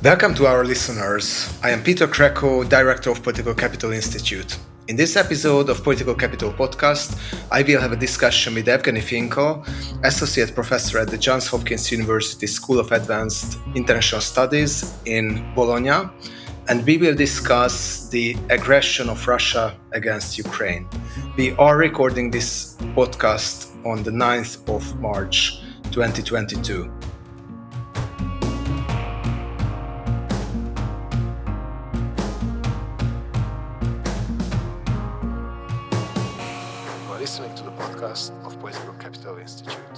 Welcome to our listeners. I am Peter Kreko, Director of Political Capital Institute. In this episode of Political Capital Podcast, I will have a discussion with Evgeny Finkel, Associate Professor at the Johns Hopkins University School of Advanced International Studies in Bologna, and we will discuss the aggression of Russia against Ukraine. We are recording this podcast on the 9th of March, 2022. Listening to the podcast of Political Capital Institute.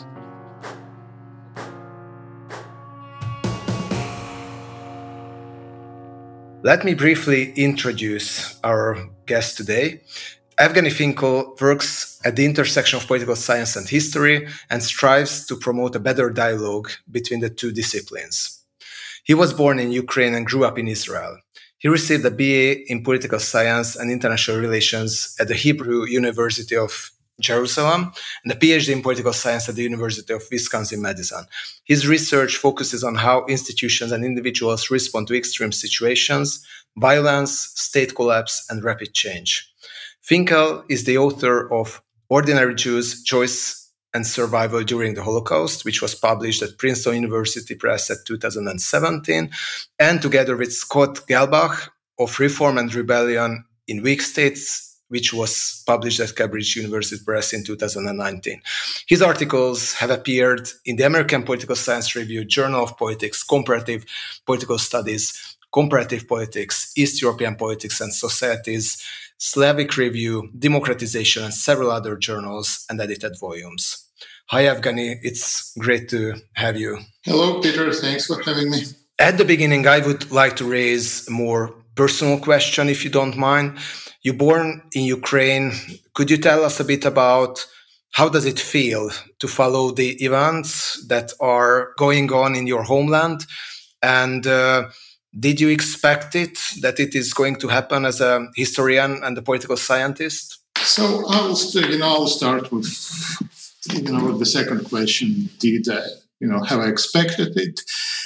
Let me briefly introduce our guest today. Evgeny Finkel works at the intersection of political science and history and strives to promote a better dialogue between the two disciplines. He was born in Ukraine and grew up in Israel. He received a BA in Political Science and International Relations at the Hebrew University of Jerusalem and a PhD in Political Science at the University of Wisconsin-Madison. His research focuses on how institutions and individuals respond to extreme situations, violence, state collapse, and rapid change. Finkel is the author of Ordinary Jews, Choice and Survival During the Holocaust, which was published at Princeton University Press at 2017, and together with Scott Gelbach of Reform and Rebellion in Weak States, which was published at Cambridge University Press in 2019. His articles have appeared in the American Political Science Review, Journal of Politics, Comparative Political Studies, Comparative Politics, East European Politics and Societies, Slavic Review, Democratization, and several other journals and edited volumes. Hi, Evgeny. It's great to have you. Hello, Peter. Thanks for having me. At the beginning, I would like to raise a more personal question, if you don't mind. You're born in Ukraine. Could you tell us a bit about how does it feel to follow the events that are going on in your homeland? And did you expect it, that it is going to happen as a historian and a political scientist? So I'll start with, with the second question. Did I, have I expected it?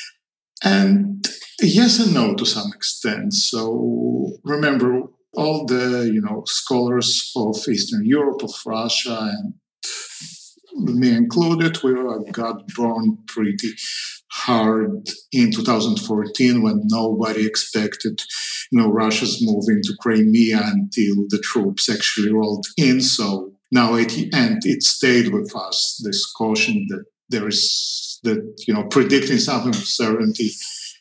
And yes and no to some extent. So remember, all the, scholars of Eastern Europe, of Russia, and me included, we got burned pretty hard in 2014 when nobody expected, Russia's move into Crimea until the troops actually rolled in. So now at the end, it stayed with us, this caution that there is, that, predicting something with certainty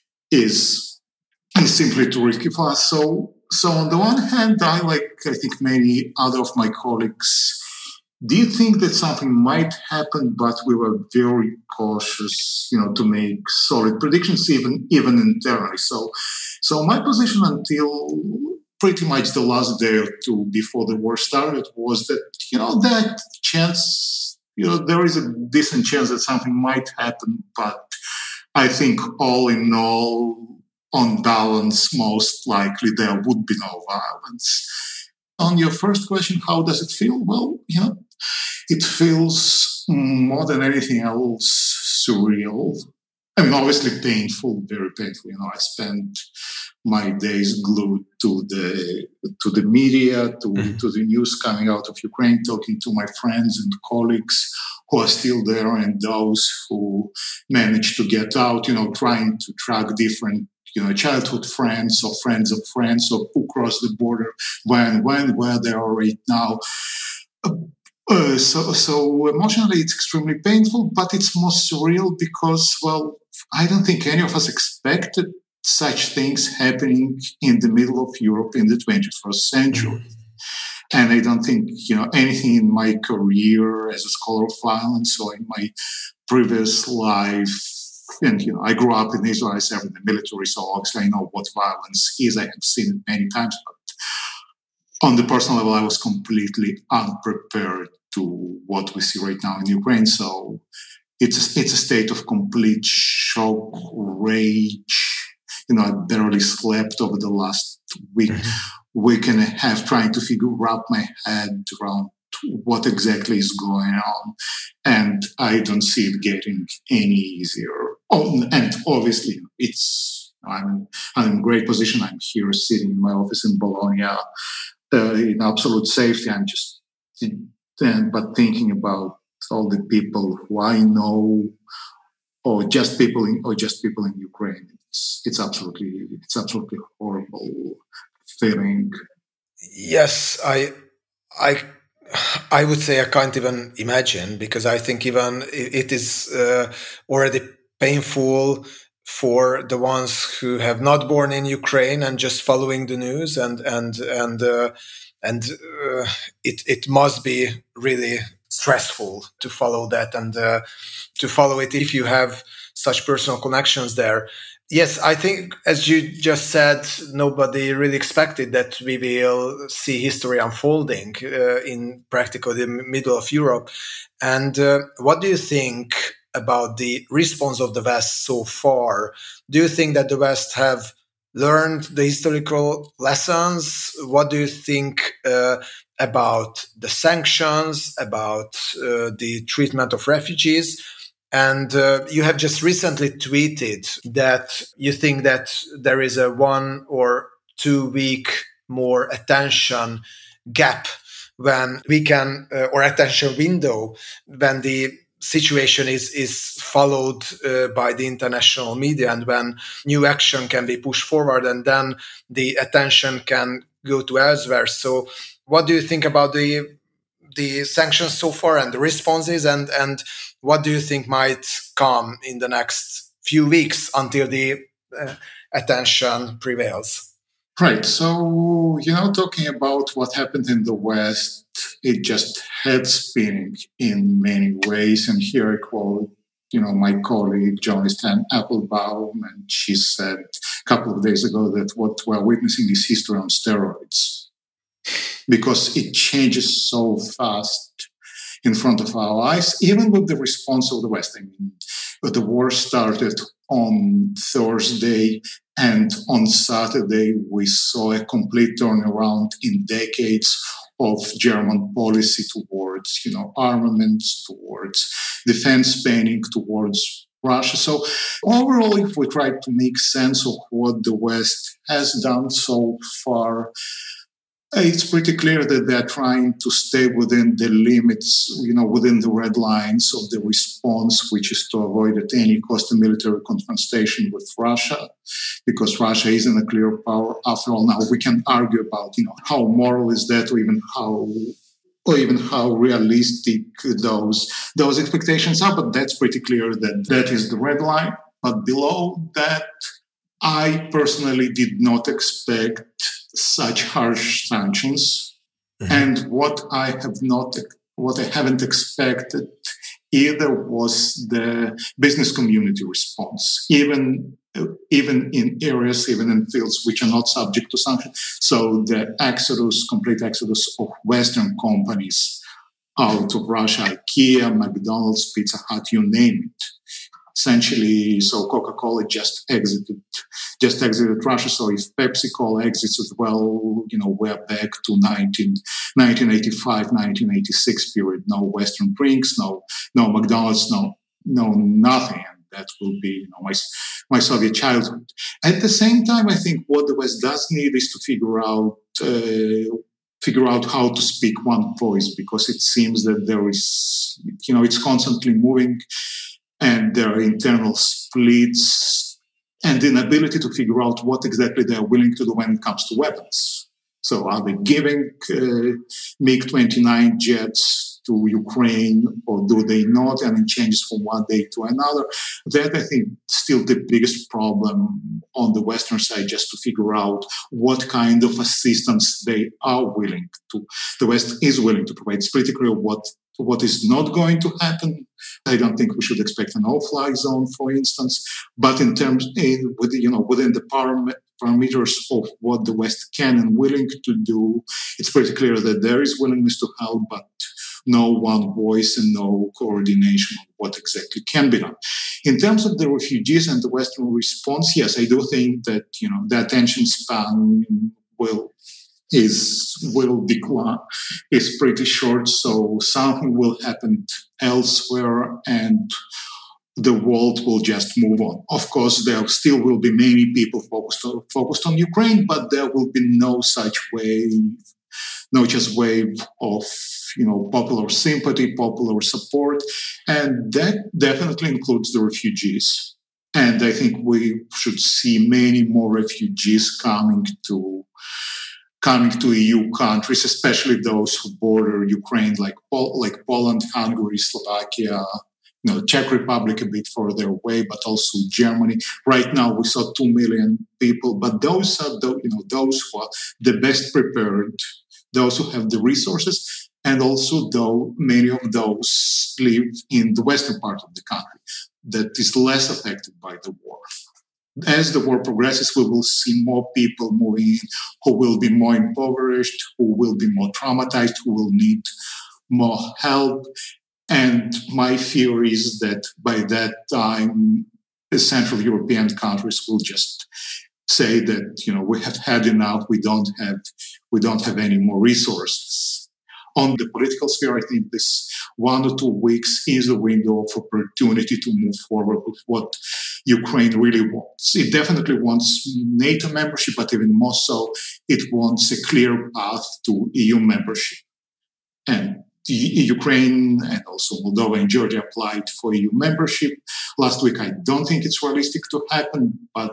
is simply too risky for us. So on the one hand, I think many other of my colleagues did think that something might happen, but we were very cautious, to make solid predictions, even internally. So my position until pretty much the last day or two before the war started was that, that chance, there is a decent chance that something might happen, but I think all in all, on balance, most likely there would be no violence. On your first question, how does it feel? Well, it feels more than anything else surreal. I mean, obviously painful, very painful. I spent my days glued to the media, to the news coming out of Ukraine, talking to my friends and colleagues who are still there and those who managed to get out, trying to track different childhood friends or friends of friends or who crossed the border, where they are right now. So emotionally, it's extremely painful, but it's more surreal because, well, I don't think any of us expected such things happening in the middle of Europe in the 21st century. And I don't think, anything in my career as a scholar of violence or in my previous life. And, I grew up in Israel, I served in the military, so obviously I know what violence is. I have seen it many times, but on the personal level, I was completely unprepared to what we see right now in Ukraine. So it's a state of complete shock, rage. I barely slept over the last week and a half trying to wrap my head around what exactly is going on. And I don't see it getting any easier. Oh, and obviously, it's I'm in great position. I'm here sitting in my office in Bologna in absolute safety. I'm just but thinking about all the people who I know, or just people in Ukraine. It's absolutely horrible feeling. Yes, I I would say I can't even imagine, because I think even it is already painful for the ones who have not born in Ukraine and just following the news, and it must be really stressful to follow that, and to follow it if you have such personal connections there. Yes, I think, as you just said, nobody really expected that we will see history unfolding in practically the middle of Europe. And what do you think about the response of the West so far? Do you think that the West have learned the historical lessons? What do you think about the sanctions, about the treatment of refugees? And you have just recently tweeted that you think that there is a 1 or 2 week more attention gap when we can, or attention window, when the situation is followed by the international media, and when new action can be pushed forward, and then the attention can go to elsewhere. So what do you think about the sanctions so far and the responses, and what do you think might come in the next few weeks until the uh, attention prevails? Right. So, talking about what happened in the West, it just head spinning in many ways. And here I quote, my colleague Jonathan Applebaum, and she said a couple of days ago that what we're witnessing is history on steroids, because it changes so fast in front of our eyes, even with the response of the West. I mean, the war started on Thursday, and on Saturday, we saw a complete turnaround in decades of German policy towards, armaments, towards defense spending, towards Russia. So overall, if we try to make sense of what the West has done so far, it's pretty clear that they're trying to stay within the limits, within the red lines of the response, which is to avoid at any cost a military confrontation with Russia, because Russia isn't a clear power. After all, now we can argue about, how moral is that, or even how realistic those expectations are. But that's pretty clear that that is the red line. But below that, I personally did not expect such harsh sanctions. Mm-hmm. And what I haven't expected either was the business community response, even in areas, even in fields which are not subject to sanctions. So the complete exodus of Western companies out of Russia, IKEA, McDonald's, Pizza Hut, you name it. Essentially, so Coca-Cola just exited Russia. So if Pepsi-Cola exits as well, we're back to 1985, 1986 period. No Western drinks, no McDonald's, no nothing. And that will be, my Soviet childhood. At the same time, I think what the West does need is to figure out how to speak one voice, because it seems that there is, it's constantly moving, and there are internal splits and inability to figure out what exactly they're willing to do when it comes to weapons. So are they giving MiG-29 jets to Ukraine, or do they not? And it changes from one day to another. That, I think, still the biggest problem on the Western side, just to figure out what kind of assistance they are willing to. The West is willing to provide. It's pretty clear what is not going to happen. I don't think we should expect a no-fly zone, for instance. But within the parameters of what the West can and willing to do, it's pretty clear that there is willingness to help, but no one voice and no coordination of what exactly can be done. In terms of the refugees and the Western response, yes, I do think that the attention span will decline, is pretty short, so something will happen elsewhere, and the world will just move on. Of course, there still will be many people focused on Ukraine, but there will be no such wave of popular sympathy, popular support, and that definitely includes the refugees. And I think we should see many more refugees coming to EU countries, especially those who border Ukraine, like Poland, Hungary, Slovakia, Czech Republic a bit further away, but also Germany. Right now, we saw 2 million people, but those are those who are the best prepared, those who have the resources, and also though many of those live in the western part of the country that is less affected by the war. As the war progresses, we will see more people moving in who will be more impoverished, who will be more traumatized, who will need more help. And my fear is that by that time, the Central European countries will just say that we have had enough. We don't have any more resources. On the political sphere, I think this 1 or 2 weeks is a window of opportunity to move forward with what Ukraine really wants. It definitely wants NATO membership, but even more so, it wants a clear path to EU membership. And Ukraine and also Moldova and Georgia applied for EU membership last week. I don't think it's realistic to happen, but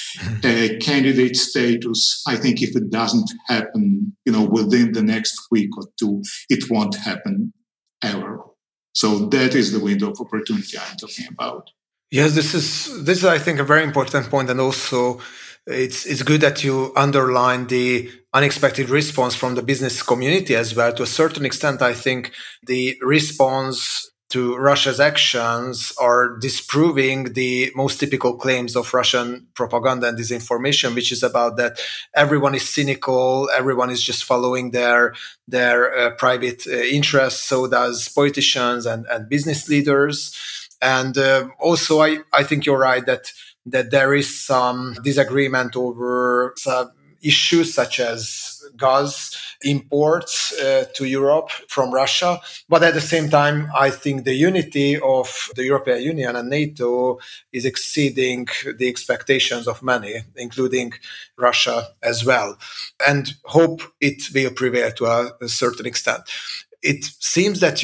a candidate status, I think if it doesn't happen, within the next week or two, it won't happen ever. So that is the window of opportunity I'm talking about. Yes, this is I think a very important point, and also it's good that you underline the unexpected response from the business community as well. To a certain extent, I think the response to Russia's actions are disproving the most typical claims of Russian propaganda and disinformation, which is about that everyone is cynical, everyone is just following their private interests. So does politicians and business leaders. And also, I think you're right that there is some disagreement over some issues such as gas imports to Europe from Russia. But at the same time, I think the unity of the European Union and NATO is exceeding the expectations of many, including Russia as well. And hope it will prevail to a certain extent. It seems that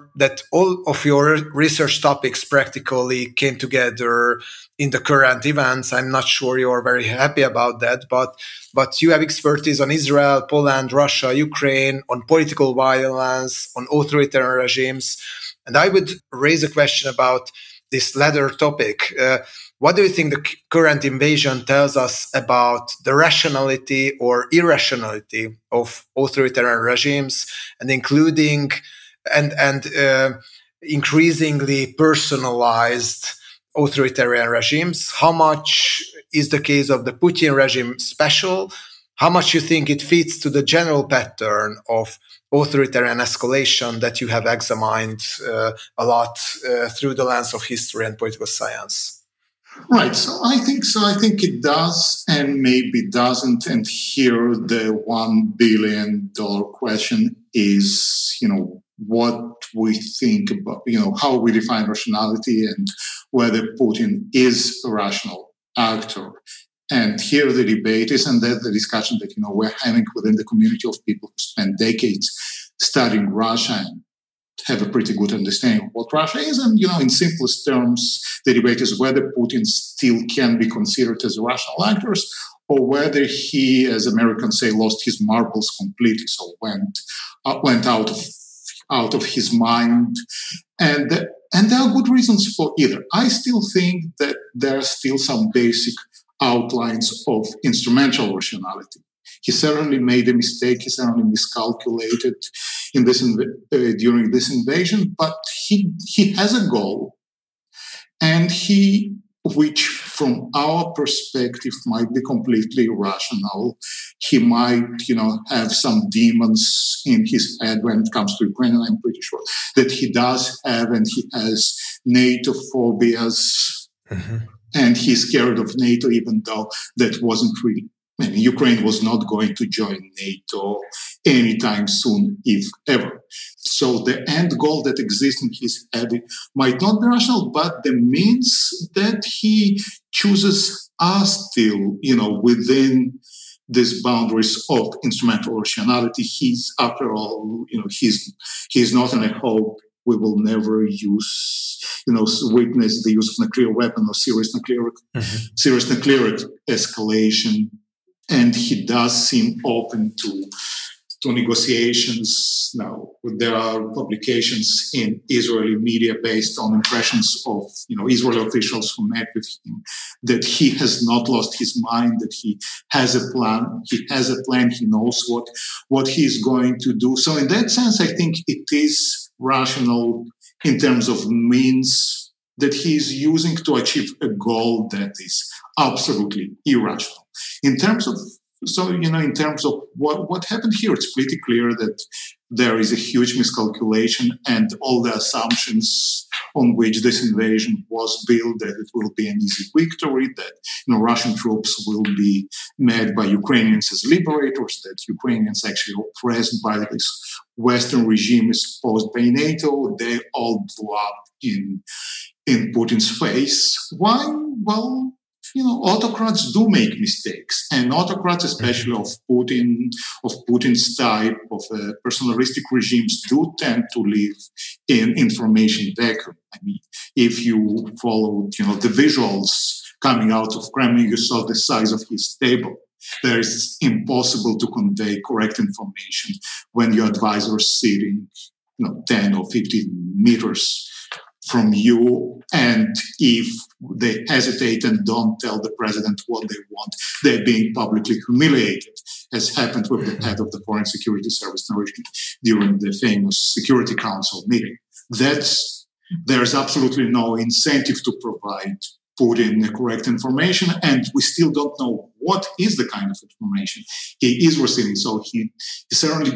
all of your research topics practically came together in the current events. I'm not sure you're very happy about that, but you have expertise on Israel, Poland, Russia, Ukraine, on political violence, on authoritarian regimes. And I would raise a question about this latter topic. What do you think the current invasion tells us about the rationality or irrationality of authoritarian regimes, and including and increasingly personalized authoritarian regimes? How much is the case of the Putin regime special? How much you think it fits to the general pattern of authoritarian escalation that you have examined a lot through the lens of history and political science? Right. So I think it does, and maybe doesn't. And here the $1 billion question is, what we think about, how we define rationality and whether Putin is a rational actor. And here the debate is, and that's the discussion that, we're having within the community of people who spend decades studying Russia and have a pretty good understanding of what Russia is. And, in simplest terms, the debate is whether Putin still can be considered as a rational actor, or whether he, as Americans say, lost his marbles completely, so went out of his mind. And there are good reasons for either. I still think that there are still some basic outlines of instrumental rationality. He certainly made a mistake. He certainly miscalculated during this invasion. But he has a goal, and which from our perspective might be completely irrational. He might, have some demons in his head when it comes to Ukraine. And I'm pretty sure that he does have, and he has NATO phobias. Mm-hmm. And he's scared of NATO, even though that wasn't really Ukraine was not going to join NATO anytime soon, if ever. So the end goal that exists in his head might not be rational, but the means that he chooses are still, within these boundaries of instrumental rationality. He's, after all, he's not, and I hope we will never witness the use of nuclear weapon or serious nuclear escalation. And he does seem open to negotiations. Now, there are publications in Israeli media based on impressions of Israeli officials who met with him that he has not lost his mind, that he has a plan. He knows what he's going to do. So in that sense, I think it is rational in terms of means that he is using to achieve a goal that is absolutely irrational. In terms of what happened here, it's pretty clear that there is a huge miscalculation, and all the assumptions on which this invasion was built, that it will be an easy victory, that Russian troops will be met by Ukrainians as liberators, that Ukrainians actually oppressed by this Western regime imposed by NATO, they all blew up in Putin's face. Why? Well, autocrats do make mistakes, and autocrats, especially of Putin's type of personalistic regimes, do tend to live in information vacuum. I mean, if you followed, the visuals coming out of Kremlin, you saw the size of his table. There is impossible to convey correct information when your advisor is sitting, 10 or 15 meters from you, and if they hesitate and don't tell the president what they want, they're being publicly humiliated, as happened with the head of the Foreign Security Service during the famous Security Council meeting. There's absolutely no incentive to provide Putin the correct information, and we still don't know what is the kind of information he is receiving. So it certainly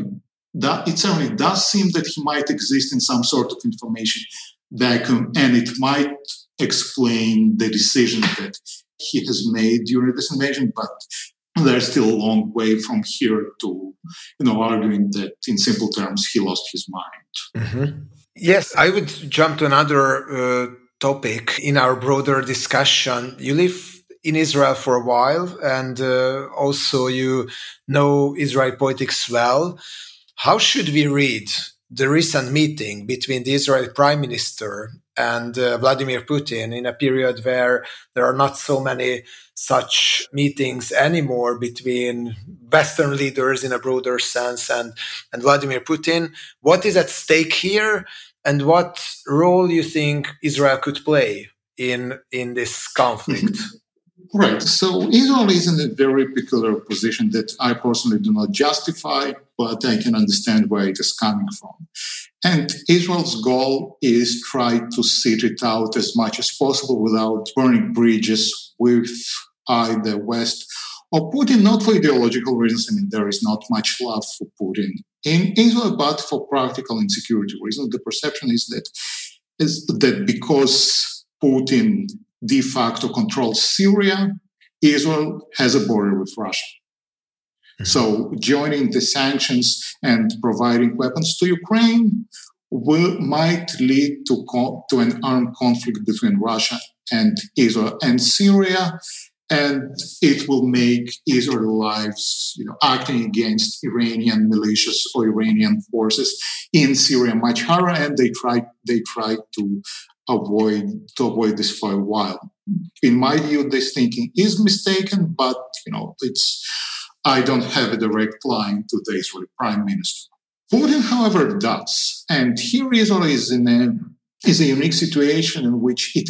does seem that he might exist in some sort of information vacuum, and it might explain the decision that he has made during this invasion, but there's still a long way from here to, arguing that in simple terms he lost his mind. Mm-hmm. Yes, I would jump to another topic in our broader discussion. You live in Israel for a while, and also you know Israeli politics well. How should we read the recent meeting between the Israeli Prime Minister and Vladimir Putin in a period where there are not so many such meetings anymore between Western leaders in a broader sense and Vladimir Putin? What is at stake here, and what role you think Israel could play in this conflict? Right. So Israel is in a very peculiar position that I personally do not justify, but I can understand where it is coming from. And Israel's goal is try to sit it out as much as possible without burning bridges with either West or Putin, not for ideological reasons. I mean, there is not much love for Putin in Israel, but for practical and security reasons. The perception is that because Putin de facto controls Syria, Israel has a border with Russia. Mm-hmm. So joining the sanctions and providing weapons to Ukraine might lead to an armed conflict between Russia and Israel and Syria, and it will make Israeli lives, acting against Iranian militias or Iranian forces in Syria much harder, and they try to avoid this for a while. In my view, this thinking is mistaken, but I don't have a direct line to the Israeli Prime Minister. Putin, however, does, and here Israel is a unique situation in which it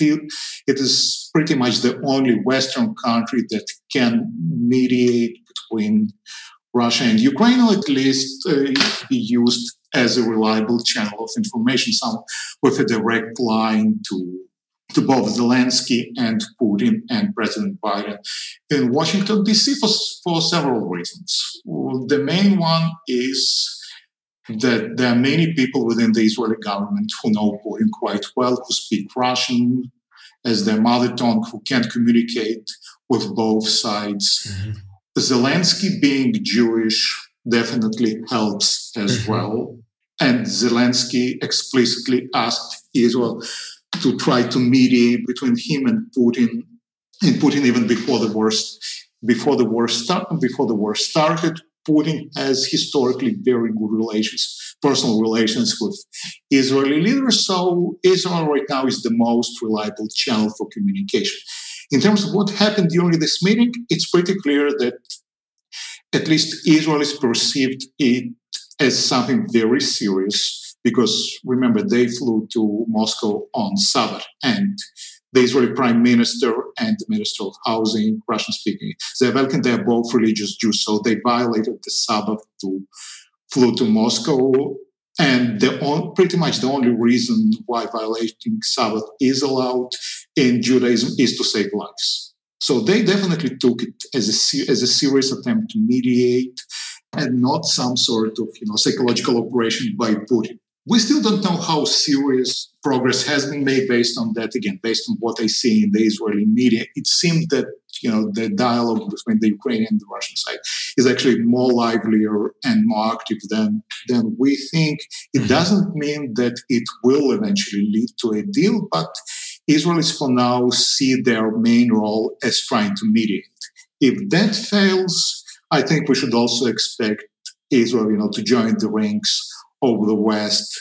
is pretty much the only Western country that can mediate between Russia and Ukraine, or at least be used as a reliable channel of information, some with a direct line to both Zelensky and Putin and President Biden in Washington, D.C. for several reasons. The main one is that there are many people within the Israeli government who know Putin quite well, who speak Russian as their mother tongue, who can communicate with both sides. Mm-hmm. Zelensky being Jewish definitely helps as well. And Zelensky explicitly asked Israel to try to mediate between him and Putin even before the war started. Putin has historically very good personal relations with Israeli leaders. So Israel right now is the most reliable channel for communication. In terms of what happened during this meeting, it's pretty clear that at least Israelis perceived it as something very serious because remember, they flew to Moscow on Sabbath and the Israeli prime minister and the minister of housing, Russian speaking, Zayavelkin, they're both religious Jews, so they violated the Sabbath flew to Moscow. And pretty much the only reason why violating Sabbath is allowed in Judaism is to save lives. So they definitely took it as a serious attempt to mediate and not some sort of psychological operation by Putin. We still don't know how serious progress has been made based on that. Again, based on what I see in the Israeli media, it seemed that the dialogue between the Ukrainian and the Russian side is actually more livelier and more active than we think. It doesn't mean that it will eventually lead to a deal, but Israelis for now see their main role as trying to mediate. If that fails, I think we should also expect Israel, to join the ranks over the West,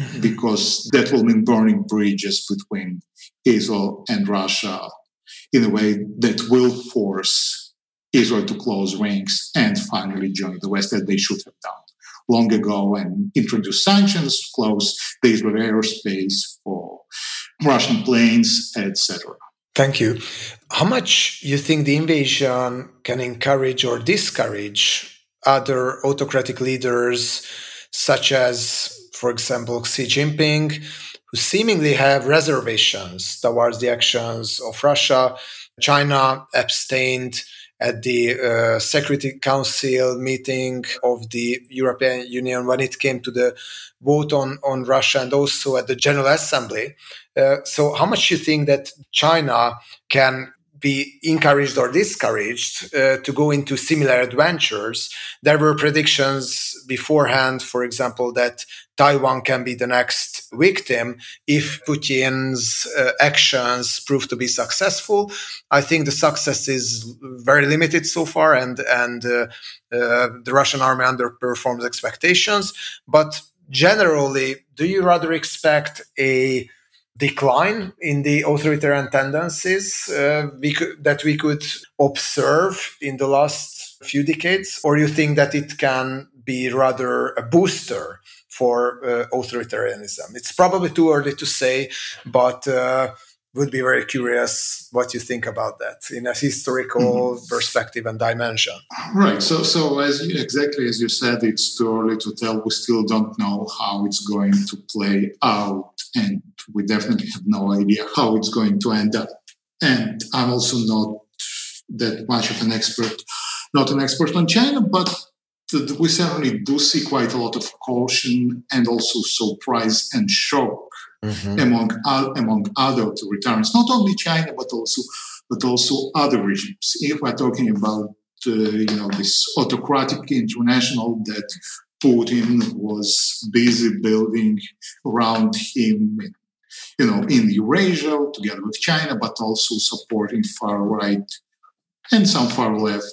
because that will mean burning bridges between Israel and Russia in a way that will force Israel to close ranks and finally join the West, as they should have done long ago, and introduce sanctions, close the Israeli airspace for Russian planes, etc. Thank you. How much you think the invasion can encourage or discourage other autocratic leaders, such as, for example, Xi Jinping, who seemingly have reservations towards the actions of Russia? China abstained at the Security Council meeting of the European Union when it came to the vote on Russia, and also at the General Assembly. So how much do you think that China can be encouraged or discouraged to go into similar adventures? There were predictions beforehand, for example, that Taiwan can be the next victim if Putin's actions prove to be successful. I think the success is very limited so far, and the Russian army underperforms expectations. But generally, do you rather expect a decline in the authoritarian tendencies that we could observe in the last few decades, or you think that it can be rather a booster for authoritarianism? It's probably too early to say, but would be very curious what you think about that in a historical perspective and dimension. Right. So exactly as you said, it's too early to tell. We still don't know how it's going to play out, and we definitely have no idea how it's going to end up. And I'm also not that much of an expert, on China, but we certainly do see quite a lot of caution and also surprise and shock among other authoritarians, not only China but also other regimes. If we're talking about this autocratic international that Putin was busy building around him, in Eurasia together with China, but also supporting far right and some far left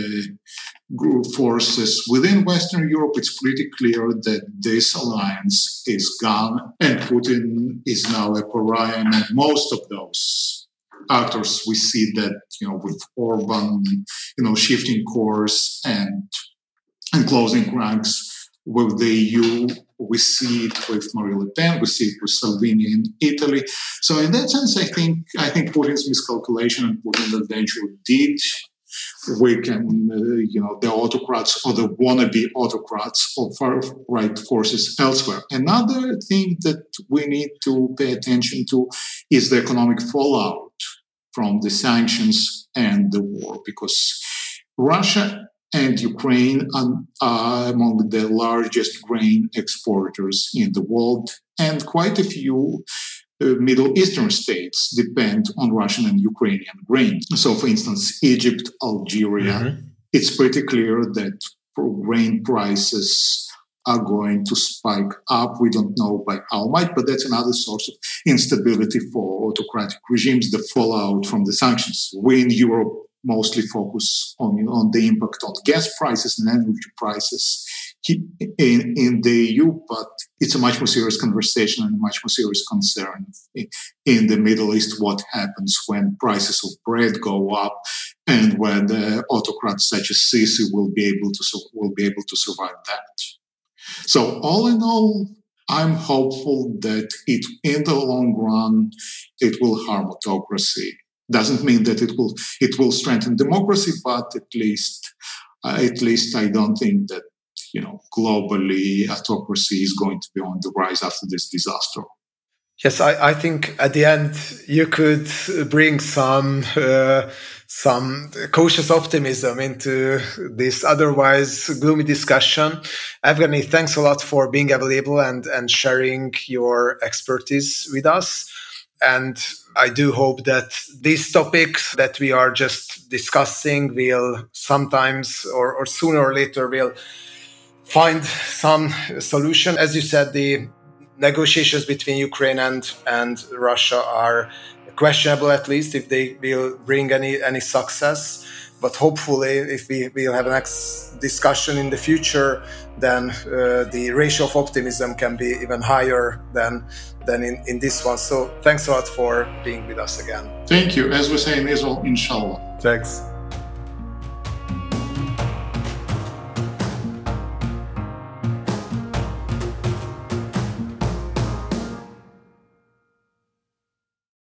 group forces within Western Europe, it's pretty clear that this alliance is gone, and Putin is now a pariah among most of those actors. We see that, with Orban, shifting course and closing ranks with the EU. We see it with Marine Le Pen. We see it with Salvini in Italy. So in that sense, I think Putin's miscalculation and Putin eventually did weaken, the autocrats or the wannabe autocrats of far-right forces elsewhere. Another thing that we need to pay attention to is the economic fallout from the sanctions and the war, because Russia and Ukraine are among the largest grain exporters in the world, and quite a few Middle Eastern states depend on Russian and Ukrainian grain. So, for instance, Egypt, Algeria, it's pretty clear that grain prices are going to spike up. We don't know by how much, but that's another source of instability for autocratic regimes, the fallout from the sanctions. We in Europe mostly focus on the impact on gas prices and energy prices in the EU, but it's a much more serious conversation and a much more serious concern in the Middle East. What happens when prices of bread go up, and whether autocrats such as Sisi will be able to survive that. So all in all, I'm hopeful that in the long run, it will harm autocracy. Doesn't mean that it will strengthen democracy, but at least I don't think that globally autocracy is going to be on the rise after this disaster. Yes, I think at the end you could bring some cautious optimism into this otherwise gloomy discussion. Evgeny, thanks a lot for being available and sharing your expertise with us. And I do hope that these topics that we are just discussing will sometimes or sooner or later will find some solution. As you said, the negotiations between Ukraine and Russia are questionable, at least if they will bring any success. But hopefully, if we will have a next discussion in the future, then the ratio of optimism can be even higher than in this one. So thanks a lot for being with us again. Thank you. As we say in Israel, inshallah. Thanks.